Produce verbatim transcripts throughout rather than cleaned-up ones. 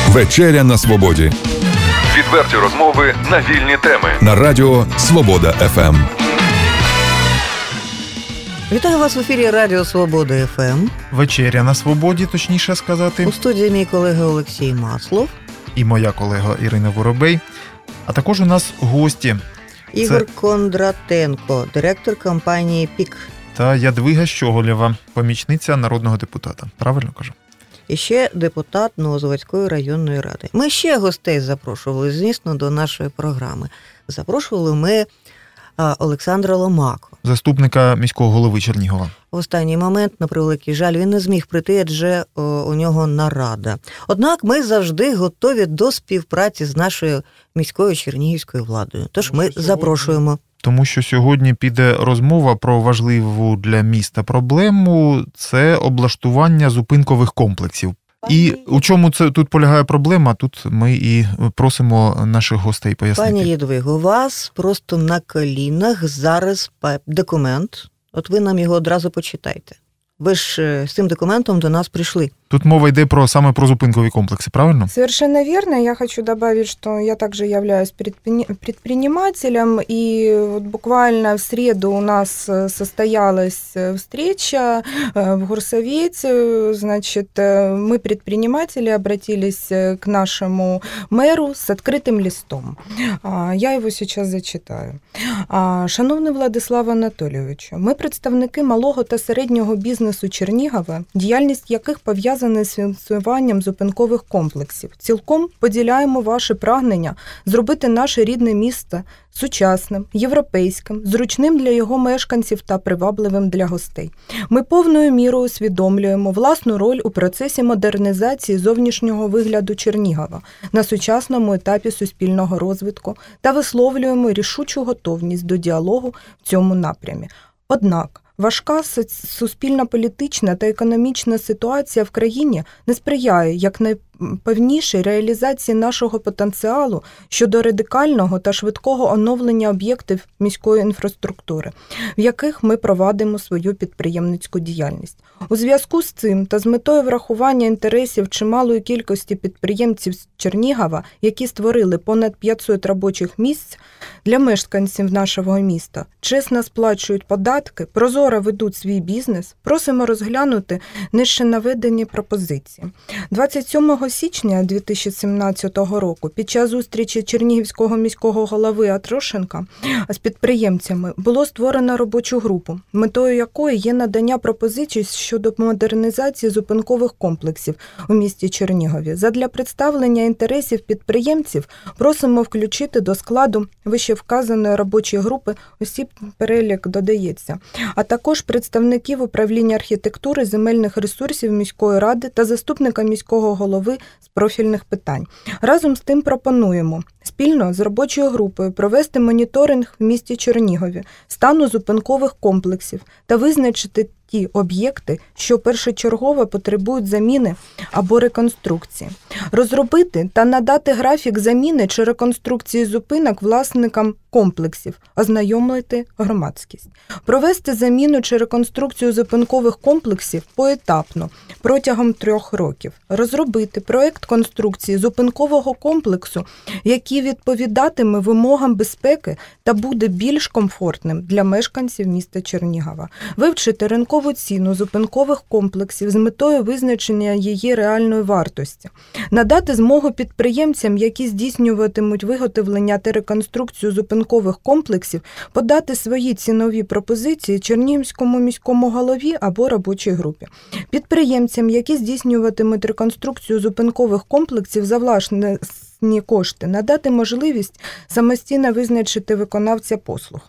Вечеря на свободі. Відверті розмови на вільні теми. На радіо Свобода еф ем. Вітаю вас в ефірі Радіо Свобода еф ем. Вечеря на свободі, точніше сказати. У студії мій колега Олексій Маслов. І моя колега Ірина Воробей. А також у нас гості. Ігор Це... Кондратенко, директор компанії «Пік». Та Ядвига Щоголєва, помічниця народного депутата. Правильно кажу? І ще депутат Новозаводської районної ради. Ми ще гостей запрошували, звісно, до нашої програми. Запрошували ми Олександра Ломако. Заступника міського голови Чернігова. В останній момент, на превеликий жаль, він не зміг прийти, адже о, у нього нарада. Однак ми завжди готові до співпраці з нашою міською чернігівською владою. Тож ми запрошуємо. Тому що сьогодні піде розмова про важливу для міста проблему – це облаштування зупинкових комплексів. І у чому це тут полягає проблема, тут ми і просимо наших гостей пояснити. Пані Ядвиго, у вас просто на колінах зараз документ. От ви нам його одразу почитайте. Ви ж з цим документом до нас пришли. Тут мова йде про саме про зупинкові комплекси, правильно? Совершенно верно. Я хочу добавить, что я также являюсь предпринимателем, и вот буквально в среду у нас состоялась встреча в горсовете. Значит, мы, предприниматели, обратились к нашему мэру с открытым листом. Я его сейчас зачитаю. Шановний Владислав Анатолійович, ми представники малого та середнього бізнесу Чернігова, діяльність яких пов'язана з фінансуванням зупинкових комплексів. Цілком поділяємо ваше прагнення зробити наше рідне місто сучасним, європейським, зручним для його мешканців та привабливим для гостей. Ми повною мірою усвідомлюємо власну роль у процесі модернізації зовнішнього вигляду Чернігова на сучасному етапі суспільного розвитку та висловлюємо рішучу готовність до діалогу в цьому напрямі. Однак, важка суспільно-політична та економічна ситуація в країні не сприяє якнайпевнішій реалізації нашого потенціалу щодо радикального та швидкого оновлення об'єктів міської інфраструктури, в яких ми провадимо свою підприємницьку діяльність. У зв'язку з цим та з метою врахування інтересів чималої кількості підприємців з Чернігова, які створили понад п'ятсот робочих місць для мешканців нашого міста, чесно сплачують податки, прозоро ведуть свій бізнес, просимо розглянути нижче наведені пропозиції. двадцять сьомого січня дві тисячі сімнадцятого року під час зустрічі Чернігівського міського голови Атрошенка з підприємцями було створено робочу групу, метою якої є надання пропозицій щодо модернізації зупинкових комплексів у місті Чернігові. Задля представлення інтересів підприємців просимо включити до складу вищевказаної робочої групи, осіб перелік додається, а також представників управління архітектури, земельних ресурсів міської ради та заступника міського голови з профільних питань. Разом з тим пропонуємо спільно з робочою групою провести моніторинг в місті Чернігові стану зупинкових комплексів та визначити ті об'єкти, що першочергово потребують заміни або реконструкції. Розробити та надати графік заміни чи реконструкції зупинок власникам комплексів, ознайомити громадськість. Провести заміну чи реконструкцію зупинкових комплексів поетапно, протягом трьох років. Розробити проєкт конструкції зупинкового комплексу, який відповідатиме вимогам безпеки та буде більш комфортним для мешканців міста Чернігова. Вивчити ринкову ціну зупинкових комплексів з метою визначення її реальної вартості. Надати змогу підприємцям, які здійснюватимуть виготовлення та реконструкцію зупинкових комплексів, подати свої цінові пропозиції Чернігівському міському голові або робочій групі. Підприємцям, які здійснюватимуть реконструкцію зупинкових комплексів за власні кошти, надати можливість самостійно визначити виконавця послуг.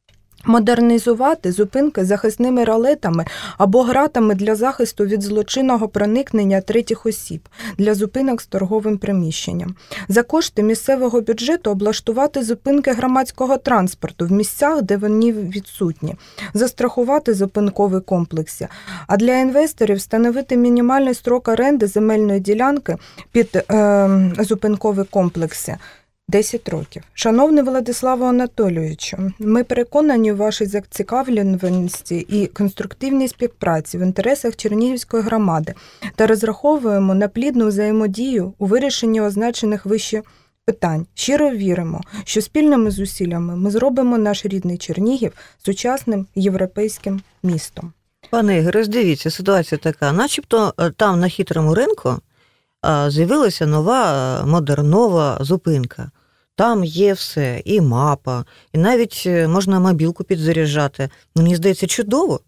Модернізувати зупинки захисними ролетами або гратами для захисту від злочинного проникнення третіх осіб для зупинок з торговим приміщенням. За кошти місцевого бюджету облаштувати зупинки громадського транспорту в місцях, де вони відсутні. Застрахувати зупинкові комплекси. А для інвесторів встановити мінімальний строк оренди земельної ділянки під е, зупинкові комплекси. десять років. Шановний Владиславу Анатолійовичу, ми переконані у вашій зацікавленості і конструктивній співпраці в інтересах Чернігівської громади та розраховуємо на плідну взаємодію у вирішенні означених вище питань. Щиро віримо, що спільними зусиллями ми зробимо наш рідний Чернігів сучасним європейським містом. Пане Ігоре, роздивіться, ситуація така, начебто там на Хитрому ринку з'явилася нова модернова зупинка. Там є все, і мапа, і навіть можна мобілку підзаряджати. Мені здається, чудово.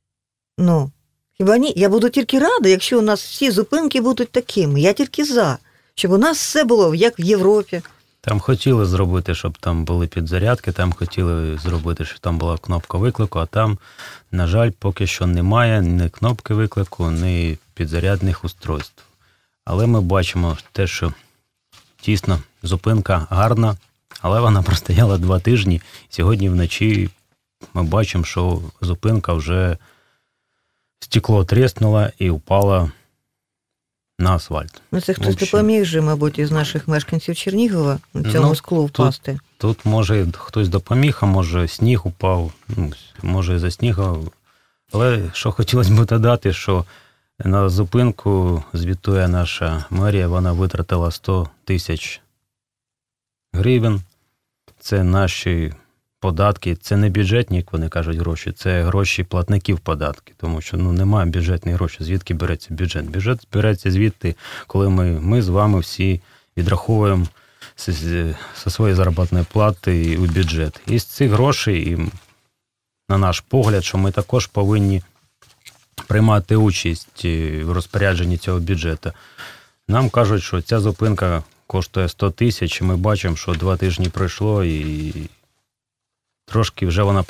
Ну, хіба ні? Я буду тільки рада, якщо у нас всі зупинки будуть такими. Я тільки за, щоб у нас все було, як в Європі. Там хотіли зробити, щоб там були підзарядки, там хотіли зробити, щоб там була кнопка виклику, а там, на жаль, поки що немає ні кнопки виклику, ні підзарядних устройств. Але ми бачимо те, що дійсно зупинка гарна, але вона простояла два тижні. Сьогодні вночі ми бачимо, що зупинка вже стекло тріснуло і впало на асфальт. Ну, це хтось допоміг же, мабуть, із наших мешканців Чернігова цьому ну, склу впасти. Тут, тут, може, хтось допоміг, а може, сніг упав, ну, може, за снігу. Але що хотілося б додати, що на зупинку, звітує наша мерія, вона витратила сто тисяч гривень. Це наші податки, це не бюджетні, як вони кажуть, гроші, це гроші платників податків, тому що ну, немає бюджетних грошей. Звідки береться бюджет? Бюджет береться звідти, коли ми, ми з вами всі відраховуємо зі своєї заробітної плати у бюджет. І з цих грошей, і, на наш погляд, що ми також повинні приймати участь в розпорядженні цього бюджету. Нам кажуть, що ця зупинка коштує сто тисяч, і ми бачимо, що два тижні пройшло, і трошки вже вона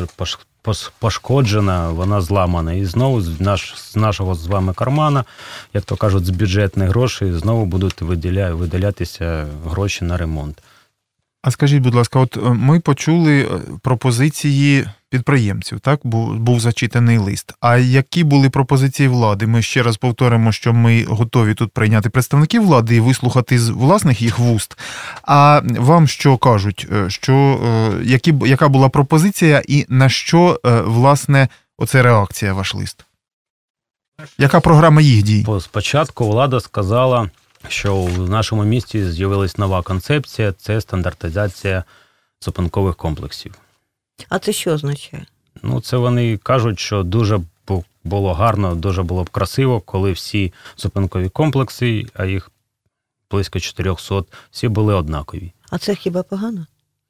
пошкоджена, вона зламана. І знову з, наш, з нашого з вами кармана, як то кажуть, з бюджетних грошей, знову будуть виділя, виділятися гроші на ремонт. А скажіть, будь ласка, от ми почули пропозиції підприємців, так? Був, був зачитаний лист. А які були пропозиції влади? Ми ще раз повторимо, що ми готові тут прийняти представників влади і вислухати з власних їх вуст. А вам що кажуть? Що, які, яка була пропозиція і на що, власне, оце реакція, ваш лист? Яка програма їх дій? Спочатку влада сказала, що в нашому місті з'явилась нова концепція – це стандартизація зупинкових комплексів. А це що означає? Ну, це вони кажуть, що дуже було гарно, дуже було б красиво, коли всі зупинкові комплекси, а їх близько чотириста, всі були однакові. А це хіба погано?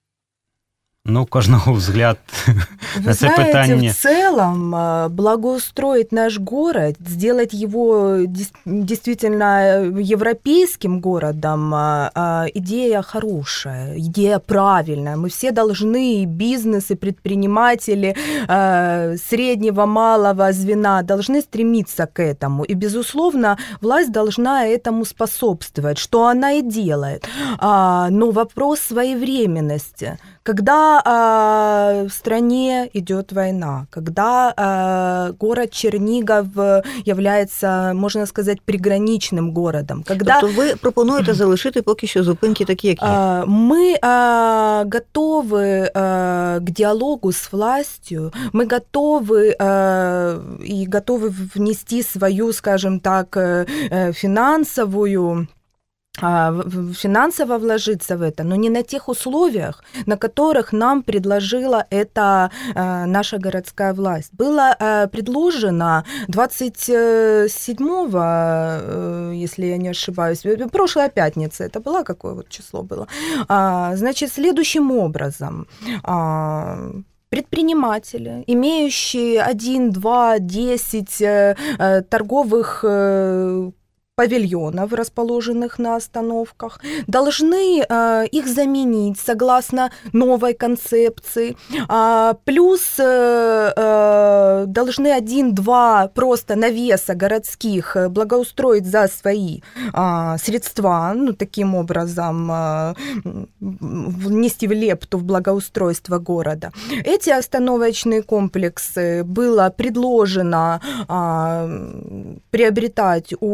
Ну, кожного взгляд Вы на це знаете, питання. в целом благоустроить наш город, сделать его действительно европейским городом, идея хорошая, идея правильная. Мы все должны, и бизнес, и предприниматели среднего, малого звена должны стремиться к этому. И, безусловно, власть должна этому способствовать, что она и делает. Но вопрос своевременности. Когда э, в стране идет война, когда э, город Чернигов является, можно сказать, приграничным городом. Когда, тобто ви пропонуєте залишити поки що зупинки такі, як є? Э, мы э, готовы э, к диалогу с властью, мы готовы э, и готовы внести свою, скажем так, э, финансовую финансово вложиться в это, но не на тех условиях, на которых нам предложила это э, наша городская власть. Было э, предложено двадцать седьмого, э, если я не ошибаюсь, прошлая пятница, это была, какое вот число было, а, значит, следующим образом. А, предприниматели, имеющие один, два, десять э, э, торговых э, павильонов, расположенных на остановках, должны э, их заменить согласно новой концепции. А, плюс э, э, должны один-два просто навеса городских благоустроить за свои э, средства, ну, таким образом э, внести в лепту в благоустройство города. Эти остановочные комплексы было предложено э, приобретать у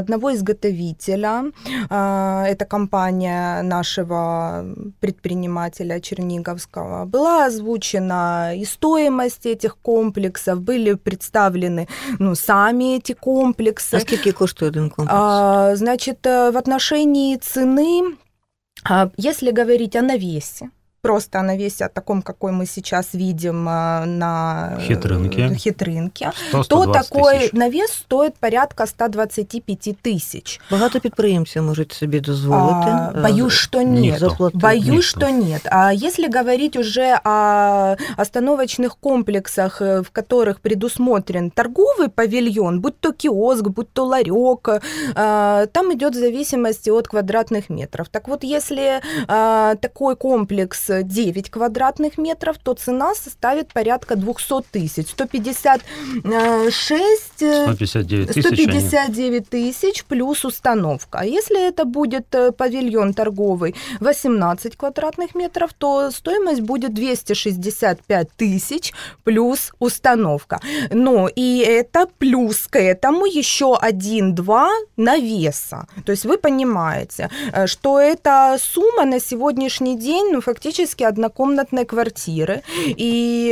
одного изготовителя, это компания нашего предпринимателя черниговского, была озвучена и стоимость этих комплексов, были представлены ну, сами эти комплексы. А сколько коштует один комплекс? А, значит, в отношении цены, если говорить о навесе, просто о навесе, о таком, какой мы сейчас видим на хитринке, хитринке сто - сто то двадцять такой тисяч. навес стоит порядка сто двадцять п'ять тисяч. Багато підприємців можуть собі дозволити. А, боюсь, что нет. Никто. Боюсь, Никто. что нет. А если говорить уже о остановочных комплексах, в которых предусмотрен торговый павильон, будь то киоск, будь то ларек, там идет в зависимости от квадратных метров. Так вот, если такой комплекс девять квадратных метров, то цена составит порядка двести тысяч. сто пятьдесят шесть... сто пятьдесят девять тысяч. сто пятьдесят девять тысяч плюс установка. А если это будет павильон торговый восемнадцать квадратных метров, то стоимость будет двести шестьдесят пять тысяч плюс установка. Но и это плюс к этому еще один-два навеса. То есть вы понимаете, что эта сумма на сегодняшний день ну, фактически однокомнатной квартиры. И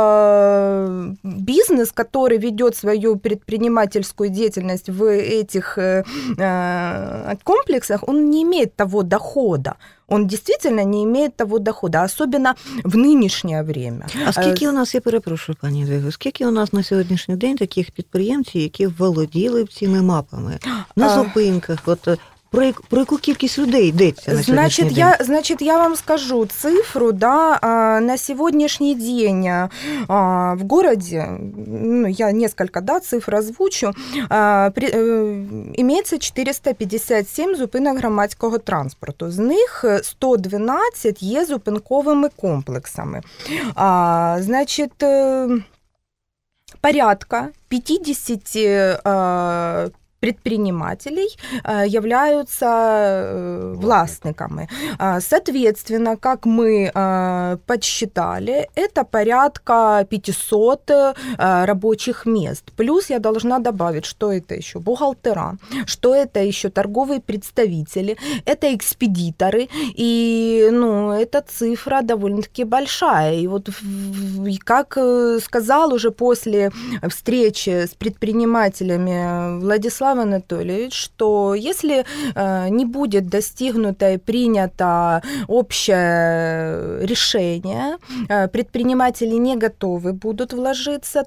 э, бизнес, который ведет свою предпринимательскую деятельность в этих э, комплексах, он не имеет того дохода. Он действительно не имеет того дохода, особенно в нинішнє время. А скільки у нас, я перепрошую, пані Єдвиго, скільки у нас на сьогоднішній день таких підприємців, які володіли цими мапами на зупинках? От про, як, про яку кількість людей йдеться на значит, сьогоднішній я, день? значит, я вам скажу цифру, да, на сегодняшний день в городе, ну, я несколько, да, цифр озвучу, имеется четыреста пятьдесят семь зупинок громадського транспорту. З них сто дванадцять є зупинковими комплексами. Значит, порядка пятьдесят предпринимателей являются властниками. Соответственно, как мы подсчитали, это порядка пятьсот рабочих мест. Плюс я должна добавить, что это еще бухгалтера, что это еще торговые представители, это экспедиторы, и ну, эта цифра довольно-таки большая. И вот как сказал уже после встречи с предпринимателями Владислав Анатольевич, что если не будет достигнуто и принято общее решение, предприниматели не готовы будут вложиться,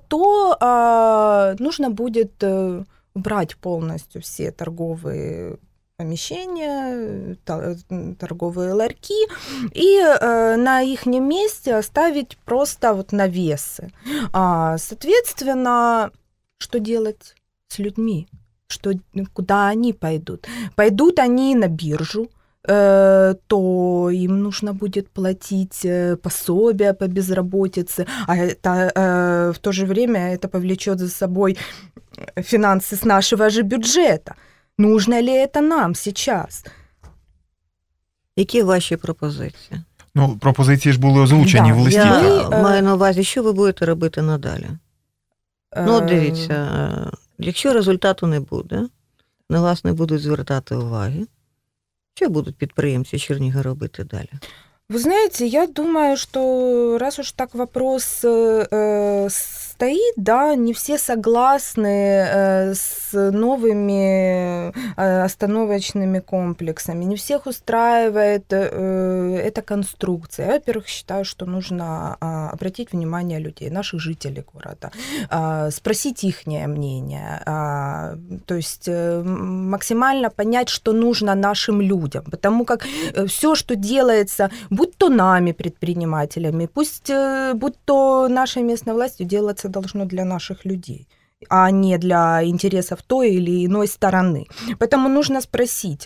то нужно будет убрать полностью все торговые помещения, торговые ларьки, и на их месте оставить просто вот навесы. Соответственно, что делать с людьми? Что, куда они пойдут? Пойдут они на биржу, э, то им нужно будет платить пособия по безработице, а это, э, в то же время это повлечет за собой финансы с нашего же бюджета. Нужно ли это нам сейчас? Які ваші пропозиції? Ну, пропозиції ж були озвучені Да, в листі. Я Ми, маю на увазі, що ви будете робити надалі? Ну, от дивіться, якщо результату не буде, на вас не будуть звертати уваги, що будуть підприємці Чернігова робити далі? Вы знаете, я думаю, что раз уж так вопрос э, стоит, да, не все согласны э, с новыми э, остановочными комплексами, не всех устраивает э, эта конструкция. Я, во-первых, считаю, что нужно э, обратить внимание людей, наших жителей города, э, спросить ихнее мнение, э, то есть э, максимально понять, что нужно нашим людям, потому как э, все, что делается, будь то нами, предпринимателями, пусть будь то нашей местной властью, делаться должно для наших людей, а не для интересов той или иной стороны. Поэтому нужно спросить,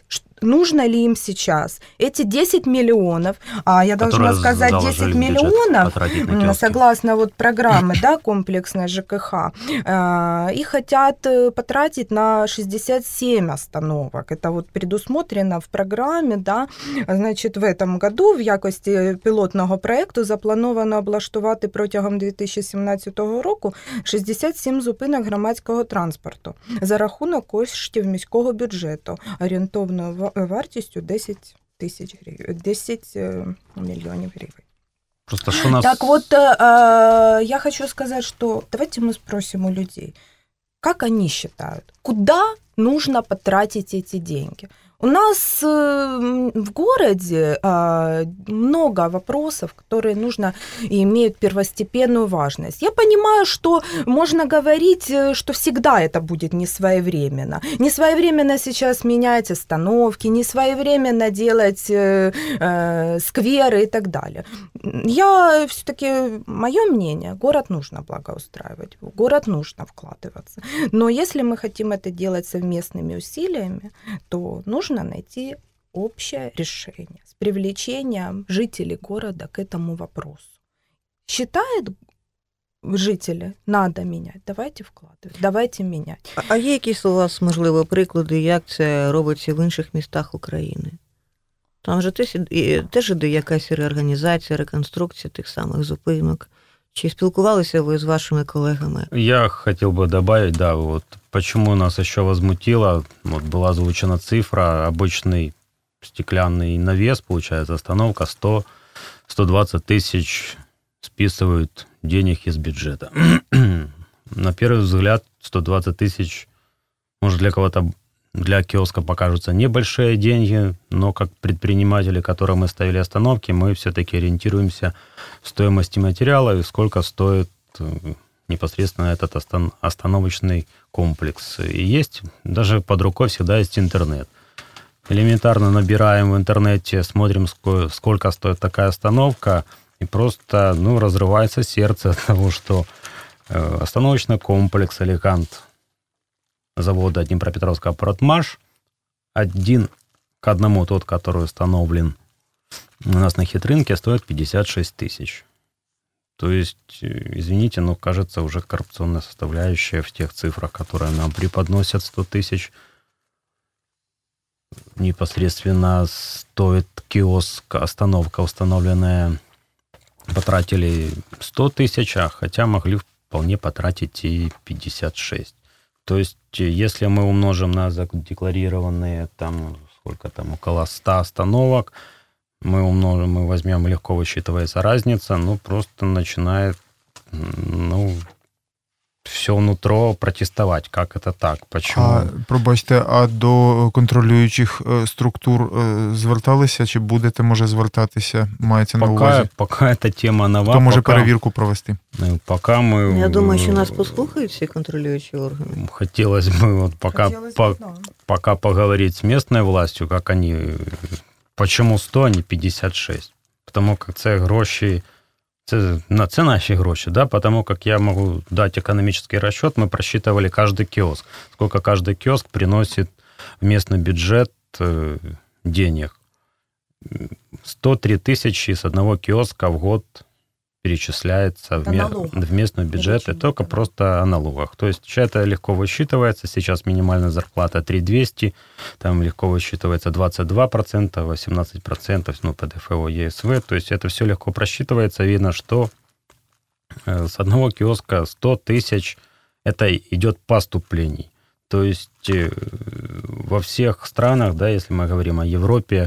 нужно ли им сейчас эти десять миллионов, а я должна Которые сказать, десять миллионов, согласно вот программе, да, комплексной ЖКХ, их хотят потратить на шестьдесят семь остановок. Это вот предусмотрено в программе, да. Значить, в этом году в якості пілотного проєкту заплановано облаштувати протягом дві тисячі сімнадцятого року шістдесят сім зупинок громадського транспорту за рахунок коштів міського бюджету орієнтовною вартістю десять тисяч гривень, десять миллионов гривен. Просто что нас... Так вот, э, я хочу сказать, что давайте мы спросим у людей, как они считают, куда нужно потратить эти деньги. У нас в городе много вопросов, которые нужно и имеют первостепенную важность. Я понимаю, что можно говорить, что всегда это будет не своевременно. Не своевременно сейчас менять остановки, не своевременно делать скверы и так далее. Я все-таки, мое мнение, город нужно благоустраивать, в город нужно вкладываться. Но если мы хотим это делать совместными усилиями, то нужно найти общее решение с привлечением жителей города к этому вопросу. Считают жители, надо менять, давайте вкладывать, давайте менять. А є якісь у вас, можливо, приклади, як це робиться в інших містах України? Там же теж іде якась реорганізація, реконструкція тих самих зупинок. Чи спілкувалися ви з вашими колегами? Я хотел бы добавить, да, вот почему нас еще возмутило, вот была озвучена цифра, обычный стеклянный навес, получается, остановка сто - сто двадцать тысяч списывают денег из бюджета. На первый взгляд, сто двадцать тысяч, может, для кого-то, для киоска покажутся небольшие деньги, но как предприниматели, которым мы ставили остановки, мы все-таки ориентируемся в стоимости материала и сколько стоит непосредственно этот остановочный комплекс. И есть, даже под рукой всегда есть интернет. Элементарно набираем в интернете, смотрим, сколько стоит такая остановка, и просто, ну, разрывается сердце от того, что остановочный комплекс «Элегант» завода Днепропетровского «Протмаш», один к одному тот, который установлен у нас на Хитрынке, стоит пятьдесят шесть тысяч. То есть, извините, но кажется уже коррупционная составляющая в тех цифрах, которые нам преподносят. Сто тысяч непосредственно стоит киоск, остановка установленная, потратили сто тысяч, а хотя могли вполне потратить и пятьдесят шесть. То есть, если мы умножим на задекларированные, там, сколько там, около ста остановок, мы умножим, мы возьмем, легко высчитывается разница, ну, просто начинает, ну, все нутро протестовать. Как это так? Почему? А, пробачте, а до контролюючих структур зверталися, чи будете, може, звертатися? Мається на пока, увазі? Пока эта тема нова. Хто може пока, перевірку провести? Пока мы... Я думаю, що нас послухають всі контролюючі органи. Хотелось бы вот пока, Хотелось по, бы, да. пока поговорить с местной властью, как они... Почему сто, а не пятьдесят шесть? Потому как це гроші, це, це наші гроші, да? Потому как я могу дать экономический расчет, мы просчитывали каждый киоск, сколько каждый киоск приносит в местный бюджет э, денег. сто три тысячи с одного киоска в год перечисляется в, ме- в местный бюджет, и только просто о налогах. То есть это легко высчитывается. Сейчас минимальная зарплата три тысячи двести, там легко высчитывается двадцать два процента, восемнадцать процентов, ну, ПДФО, ЕСВ. То есть это все легко просчитывается. Видно, что с одного киоска сто тысяч это идет поступлений. То есть во всех странах, да, если мы говорим о Европе,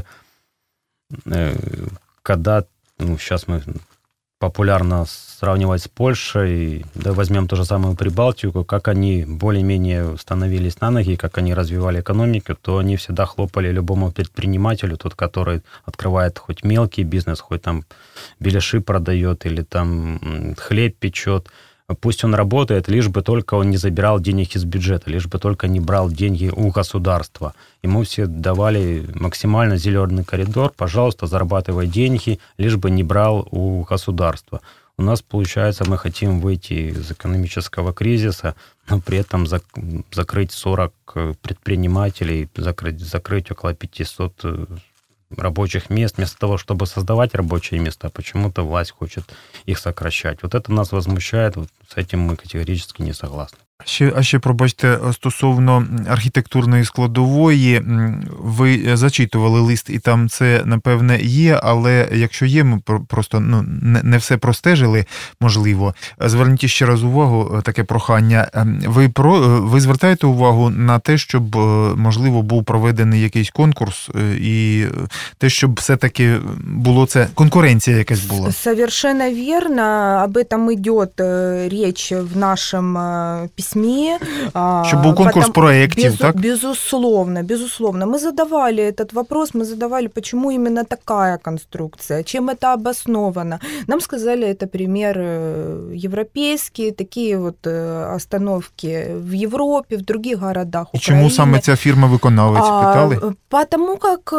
когда, ну, сейчас мы популярно сравнивать с Польшей, да, возьмем ту же самую Прибалтику, как они более-менее становились на ноги, как они развивали экономику, то они всегда хлопали любому предпринимателю, тот, который открывает хоть мелкий бизнес, хоть там беляши продает или там хлеб печет, пусть он работает, лишь бы только он не забирал денег из бюджета, лишь бы только не брал деньги у государства. Ему все давали максимально зеленый коридор, пожалуйста, зарабатывай деньги, лишь бы не брал у государства. у нас, получается, мы хотим выйти из экономического кризиса, но при этом зак- закрыть сорок предпринимателей, закрыть, закрыть около пятьсот рабочих мест, вместо того, чтобы создавать рабочие места, почему-то власть хочет их сокращать. Вот это нас возмущает, вот с этим мы категорически не согласны. Ще, а ще, пробачте, стосовно архітектурної складової, ви зачитували лист, і там це, напевне, є, але якщо є, ми просто ну, не, не все простежили, можливо. Зверніть ще раз увагу, таке прохання. Ви, про, ви звертаєте увагу на те, щоб, можливо, був проведений якийсь конкурс, і те, щоб все-таки було це, конкуренція якась була? Совершенно верно. Об этом идет речь в нашем письме. Чтобы был конкурс Потом, проектов, без, так? Безусловно, безусловно. Мы задавали этот вопрос, мы задавали, почему именно такая конструкция, чем это обосновано. Нам сказали, это пример европейский, такие вот остановки в Европе, в других городах И Украины. чему саме ця фирма-виконавець, питали? А, потому как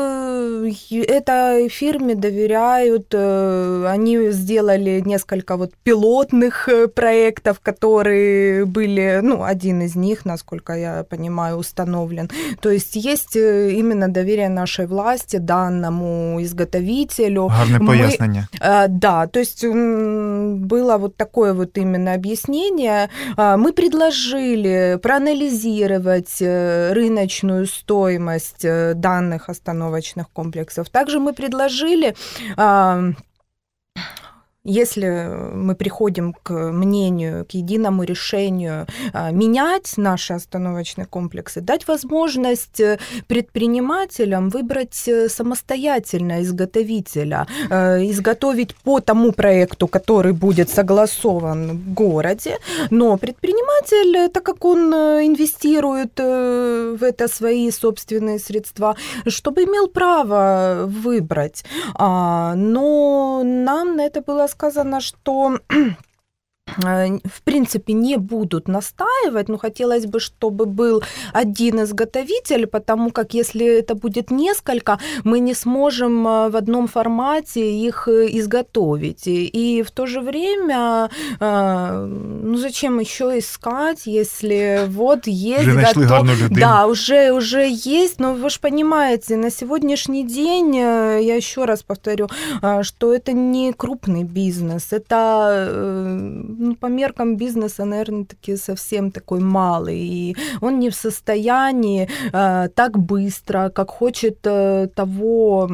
этой фирме доверяют, они сделали несколько вот пилотных проектов, которые были, ну, один из них, насколько я понимаю, установлен. То есть есть именно доверие нашей власти данному изготовителю. Гарне пояснення. Мы, да, то есть было вот такое вот именно объяснение. Мы предложили проанализировать рыночную стоимость данных остановочных комплексов. Также мы предложили, если мы приходим к мнению, к единому решению менять наши остановочные комплексы, дать возможность предпринимателям выбрать самостоятельно изготовителя, изготовить по тому проекту, который будет согласован в городе, но предприниматель, так как он инвестирует в это свои собственные средства, чтобы имел право выбрать. Но нам на это было сказано, что в принципе не будут настаивать, но хотелось бы, чтобы был один изготовитель, потому как если это будет несколько, мы не сможем в одном формате их изготовить. И в то же время, ну зачем еще искать, если вот есть уже нашли гарную людину. Да, уже, уже есть, но вы же понимаете, на сегодняшний день, я еще раз повторю, что это не крупный бизнес, это ну, по меркам бизнеса, наверное, таки совсем такой малый, и он не в состоянии э, так быстро, как хочет э, того,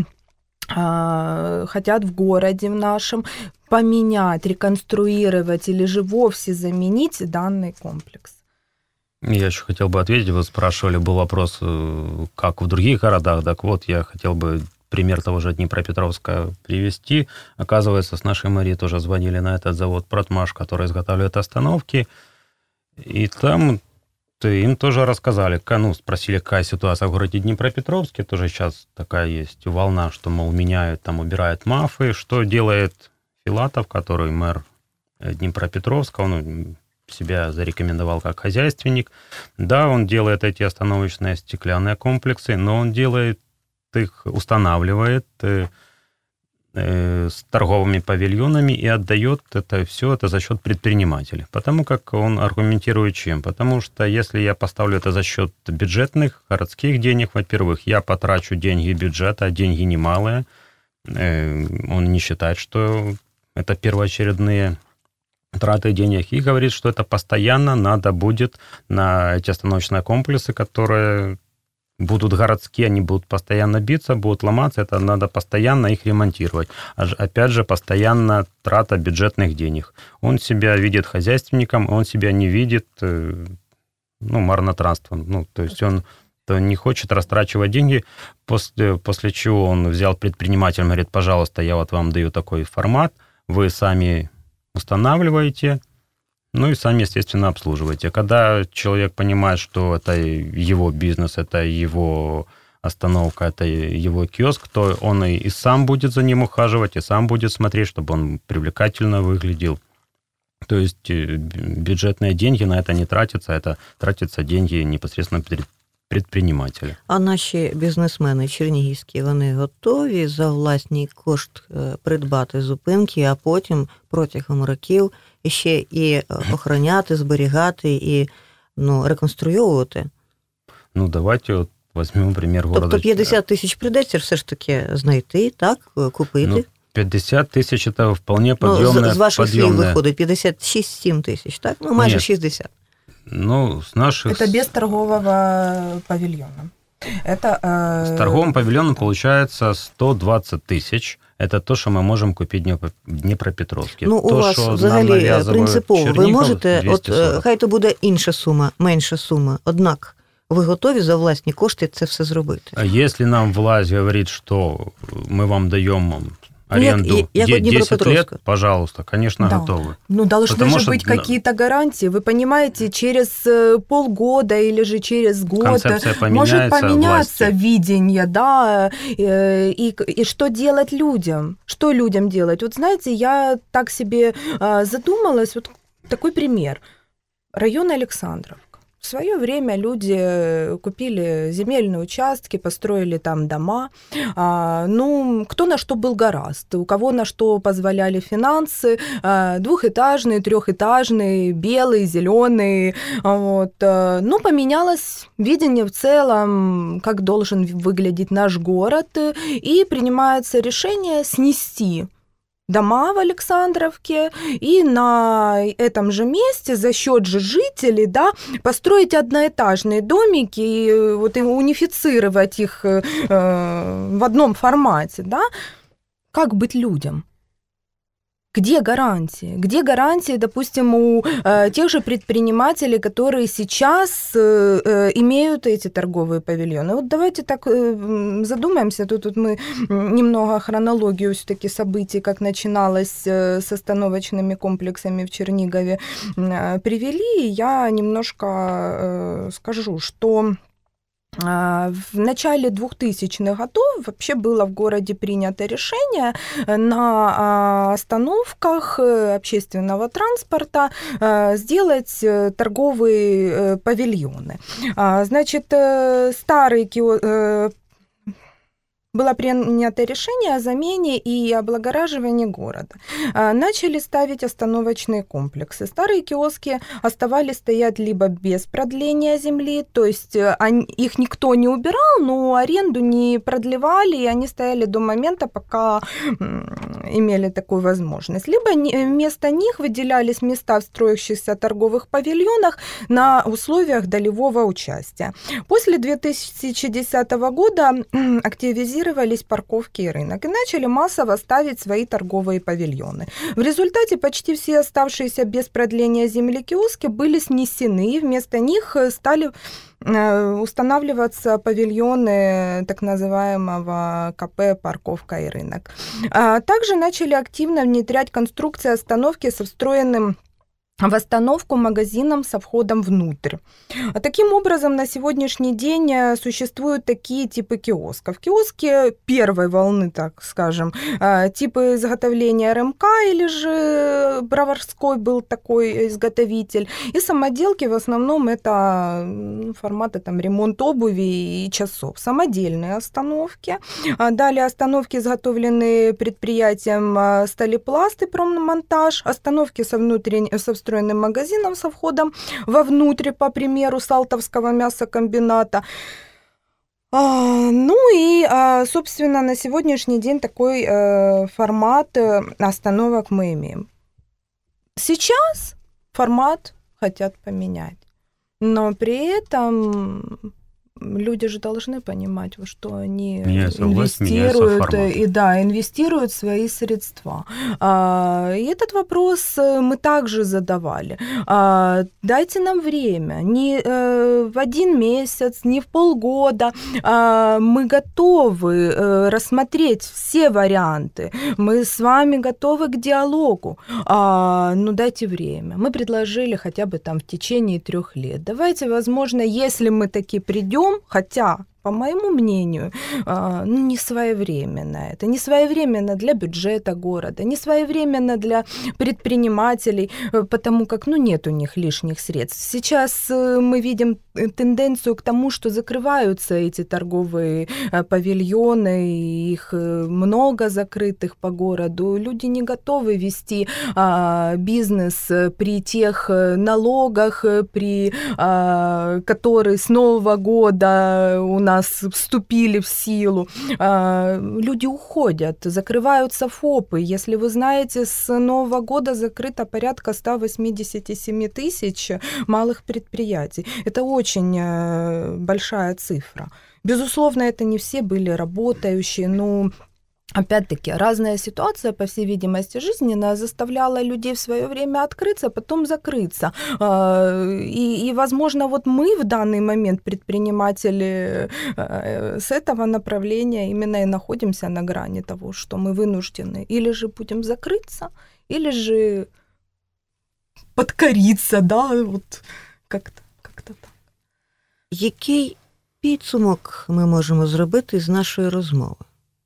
э, хотят в городе в нашем, поменять, реконструировать или же вовсе заменить данный комплекс. Я еще хотел бы ответить, вы спрашивали, был вопрос, как в других городах, так вот, я хотел бы пример того же Днепропетровска привести. Оказывается, с нашей мэрией тоже звонили на этот завод «Протмаш», который изготавливает остановки. И там им тоже рассказали, ну, спросили, какая ситуация в городе Днепропетровске. Тоже сейчас такая есть волна, что, мол, меняют, там, убирают МАФы. Что делает Филатов, который мэр Днепропетровска, он себя зарекомендовал как хозяйственник. Да, он делает эти остановочные стеклянные комплексы, но он делает их, устанавливает э, э, с торговыми павильонами и отдает это все это за счет предпринимателей. Потому как он аргументирует чем? Потому что если я поставлю это за счет бюджетных, городских денег, во-первых, я потрачу деньги бюджета, а деньги немалые. Э, он не считает, что это первоочередные траты денег, и говорит, что это постоянно надо будет на эти остановочные комплексы, которые будут городские, они будут постоянно биться, будут ломаться, это надо постоянно их ремонтировать. Опять же, постоянно трата бюджетных денег. Он себя видит хозяйственником, он себя не видит, ну, марнотратством. Ну, то есть он то не хочет растрачивать деньги, после, после чего он взял предпринимателя, говорит, пожалуйста, я вот вам даю такой формат, вы сами устанавливаете, ну и сами, естественно, обслуживаете. Когда человек понимает, что это его бизнес, это его остановка, это его киоск, то он и, и сам будет за ним ухаживать, и сам будет смотреть, чтобы он привлекательно выглядел. То есть бюджетные деньги на это не тратятся, это тратятся деньги непосредственно предпринимателя. А наші бізнесмени чернігівські, вони готові за власний кошт придбати зупинки, а потім протягом років ще і охороняти, зберігати і ну, реконструювати? Ну, давайте от візьмемо примір города. Тобто п'ятдесят тисяч прийдеться все ж таки знайти, так, купити? Ну, п'ятдесят тисяч – це вполне підйомне. Ну, з, з ваших слів підйомне. виходить п'ятдесят шість - сім тисяч, так? Ну, майже Ні. шістдесят. Ну, с наших... Это без торгового павильона. Это, э... С торговым павильоном получается сто двадцать тысяч. Это то, що ми можемо купити в Дніпропетровській. Ну, у то, вас що взагалі принципово. Ви можете, двісті сорок. от хай то буде інша сума, менша сума, однак ви готові за власні кошти це все зробити? А якщо нам власть говорить, що ми вам даємо аренду ну, як, як десять лет, пожалуйста, конечно, да. готовы. Ну, должны Потому же что... быть какие-то гарантии. Вы понимаете, через полгода или же через год может поменяться власти. видение, да, и, и что делать людям? Что людям делать? Вот знаете, я так себе задумалась, вот такой пример. Район Александровка. В свое время люди купили земельные участки, построили там дома. А, ну, кто на что был гораст, у кого на что позволяли финансы. А, двухэтажные, трехэтажные, белые, зеленые. Вот. А, ну, поменялось видение в целом, как должен выглядеть наш город, и принимается решение снести дома в Александровке и на этом же месте за счет же жителей, да, построить одноэтажные домики и вот и унифицировать их э, в одном формате, да. Как быть людям? Где гарантии? Где гарантии, допустим, у э, тех же предпринимателей, которые сейчас э, э, имеют эти торговые павильоны? Вот давайте так э, задумаемся. Тут, тут мы немного хронологию все-таки событий, как начиналось э, с остановочными комплексами в Чернигове, э, привели. Я немножко э, скажу, что в начале двухтысячных годов вообще было в городе принято решение на остановках общественного транспорта сделать торговые павильоны. Значит, старый киоск... Было принято решение о замене и облагораживании города. Начали ставить остановочные комплексы. Старые киоски оставались стоять либо без продления земли, то есть они, их никто не убирал, но аренду не продлевали, и они стояли до момента, пока имели такую возможность. Либо вместо них выделялись места в строящихся торговых павильонах на условиях долевого участия. После две тысячи десятого года активизировались парковки и рынок и начали массово ставить свои торговые павильоны. В результате почти все оставшиеся без продления земли киоски были снесены, и вместо них стали устанавливаться павильоны так называемого КП «Парковка и рынок». Также начали активно внедрять конструкции остановки со встроенным в остановку магазином со входом внутрь. А таким образом, на сегодняшний день существуют такие типы киосков. Киоски первой волны, так скажем, типы изготовления РМК или же Броварской был такой изготовитель. И самоделки в основном это форматы там, ремонт обуви и часов. Самодельные остановки. Далее остановки, изготовленные предприятием Сталепласт и Проммонтаж. Остановки со внутренней, со встроенным магазином со входом вовнутрь, по примеру Салтовского мясокомбината. А, ну и, а, собственно, на сегодняшний день такой а, формат остановок мы имеем. Сейчас формат хотят поменять, но при этом люди же должны понимать, во что они меняется инвестируют власть, и да, инвестируют свои средства. А, и этот вопрос мы также задавали. А, дайте нам время, не э, в один месяц, не в полгода. А, мы готовы э, рассмотреть все варианты. Мы с вами готовы к диалогу. А, ну дайте время. Мы предложили хотя бы там в течение трех лет. Давайте, возможно, если мы таки придем, хотя по моему мнению, ну, не своевременно. Это не своевременно для бюджета города, не своевременно для предпринимателей, потому как, ну, нет у них лишних средств. Сейчас мы видим тенденцию к тому, что закрываются эти торговые павильоны, их много закрытых по городу. Люди не готовы вести а, бизнес при тех налогах, при а, которые с Нового года у нас вступили в силу. А, люди уходят, закрываются ФОПы. Если вы знаете, с Нового года закрыто порядка сто восемьдесят семь тысяч малых предприятий. Это очень большая цифра. Безусловно, это не все были работающие, но опять-таки, разная ситуация, по всей видимости, жизненная заставляла людей в свое время открыться, потом закрыться. И, и, возможно, вот мы в данный момент, предприниматели, с этого направления именно и находимся на грани того, что мы вынуждены или же будем закрыться, или же подкориться, да, вот как-то, как-то так. Який підсумок ми можемо зробити з нашої розмови?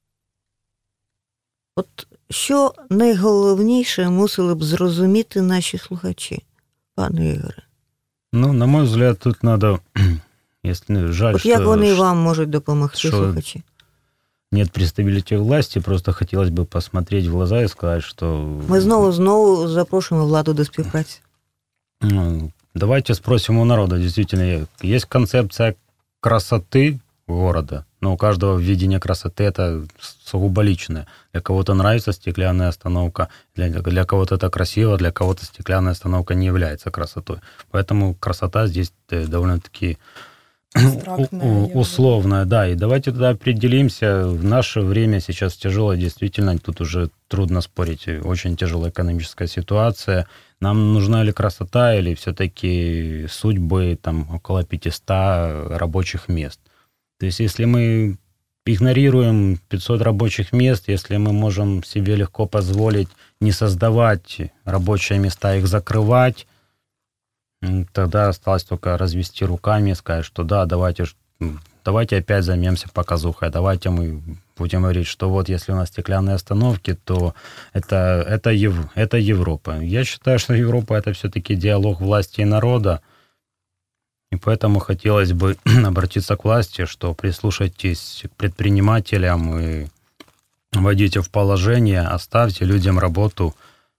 От що найголовніше мусили б зрозуміти наші слухачі, пане Ігоре? Ну, на мой взгляд, тут надо, если жаль, От что... як вони вам можуть допомогти, що слухачі? Нет представителей власти, просто хотелось бы посмотреть в глаза и сказать, что... Ми знову-знову запрошуємо владу до співпраці. Ну, давайте спросим у народа, действительно, есть концепция красоты города, но у каждого видение красоты это сугубо личное. Для кого-то нравится стеклянная остановка, для, для кого-то это красиво, для кого-то стеклянная остановка не является красотой. Поэтому красота здесь довольно-таки условная, да. И давайте тогда определимся. В наше время сейчас тяжело, действительно, тут уже трудно спорить. Очень тяжелая экономическая ситуация. Нам нужна ли красота, или все-таки судьбы там около пятьсот рабочих мест? То есть если мы игнорируем пятьсот рабочих мест, если мы можем себе легко позволить не создавать рабочие места, их закрывать, тогда осталось только развести руками и сказать, что да, давайте, давайте опять займемся показухой, давайте мы будем говорить, что вот если у нас стеклянные остановки, то это, это, Ев, это Европа. Я считаю, что Европа — это все-таки диалог власти и народа, и поэтому хотелось бы обратиться к власти, что прислушайтесь к предпринимателям и вводите в положение, оставьте людям работу,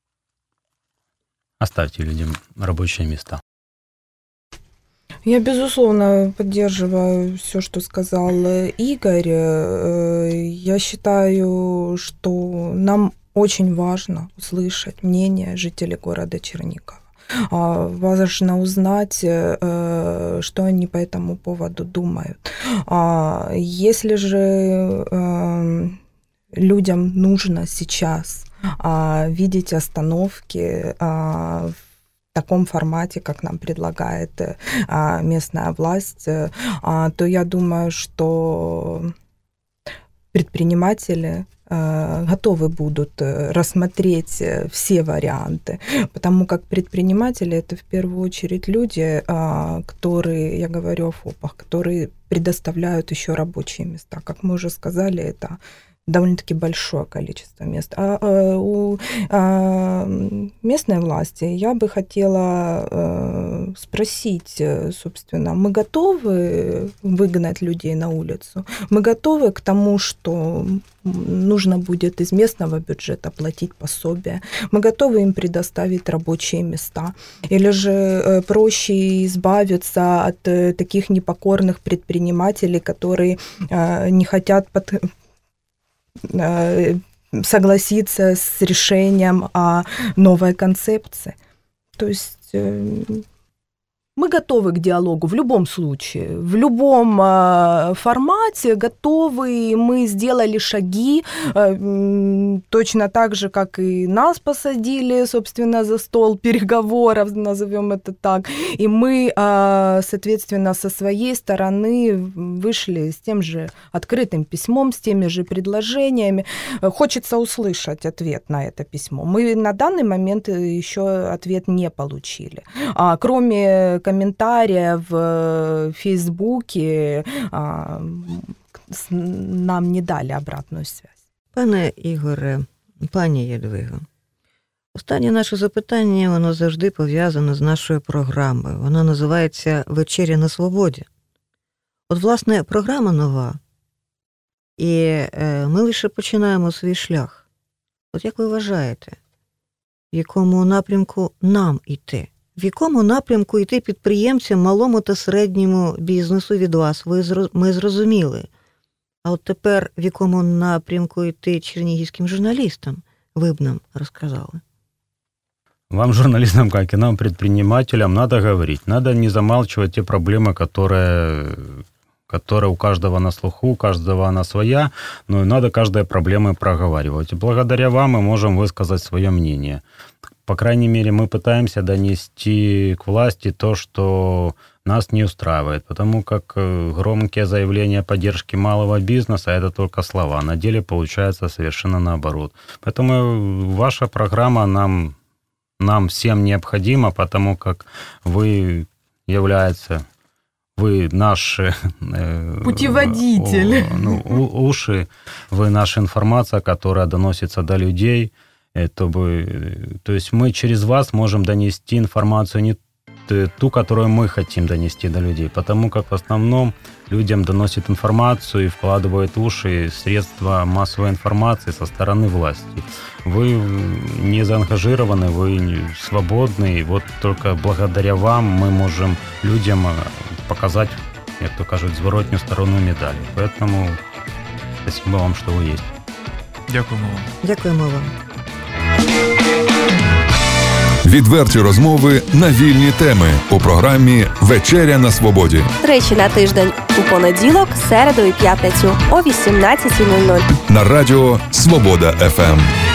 оставьте людям рабочие места. Я, безусловно, поддерживаю все, что сказал Игорь. Я считаю, что нам очень важно услышать мнение жителей города Чернигова. Важно узнать, что они по этому поводу думают. Если же людям нужно сейчас видеть остановки в таком формате, как нам предлагает местная власть, то я думаю, что предприниматели готовы будут рассмотреть все варианты, потому как предприниматели — это в первую очередь люди, которые, я говорю о ФОПах, которые предоставляют еще рабочие места. Как мы уже сказали, это довольно-таки большое количество мест. А, а у а, местной власти я бы хотела а, спросить, собственно, мы готовы выгнать людей на улицу? Мы готовы к тому, что нужно будет из местного бюджета платить пособия? Мы готовы им предоставить рабочие места? Или же проще избавиться от таких непокорных предпринимателей, которые а, не хотят под согласиться с решением о новой концепции. То есть мы готовы к диалогу в любом случае, в любом формате готовы. Мы сделали шаги, точно так же, как и нас посадили, собственно, за стол переговоров, назовем это так. И мы, соответственно, со своей стороны вышли с тем же открытым письмом, с теми же предложениями. Хочется услышать ответ на это письмо. Мы на данный момент еще ответ не получили. Кроме комментариев в Фейсбуке нам не дали обратную связь. Пане Ігоре, пані Єдвиго, останнє наше запитання, воно завжди пов'язане з нашою програмою. Вона називається «Вечеря на свободі». От, власне, програма нова, і ми лише починаємо свій шлях. От як ви вважаєте, в якому напрямку нам йти? В якому напрямку йти підприємцям, малому та середньому бізнесу від вас? Ви, ми зрозуміли. А от тепер в якому напрямку йти чернігівським журналістам? Ви б нам розказали. Вам, журналистам, как и нам, предпринимателям, надо говорить. Надо не замалчивать те проблемы, которые, которые у каждого на слуху, у каждого она своя, но надо каждой проблемы проговаривать. И благодаря вам мы можем высказать свое мнение. По крайней мере, мы пытаемся донести к власти то, что нас не устраивает, потому как громкие заявления поддержки малого бизнеса – это только слова. На деле получается совершенно наоборот. Поэтому ваша программа нам, нам всем необходима, потому как вы является, вы наш путеводитель, э, ну, уши, вы наша информация, которая доносится до людей. Это бы, то есть мы через вас можем донести информацию не ту, которую мы хотим донести до людей, потому как в основном людям доносят информацию и вкладывают в уши средства массовой информации со стороны власти. Вы не заангажированы, вы свободны, и вот только благодаря вам мы можем людям показать, как то кажуть, зворотню сторону медали. Поэтому спасибо вам, что вы есть. Дякуємо вам. Дякуємо вам. Відверті розмови на вільні теми у програмі «Вечеря на свободі». Тричі на тиждень у понеділок, середу і п'ятницю о вісімнадцятій нуль нуль. На радіо «Свобода еф ем».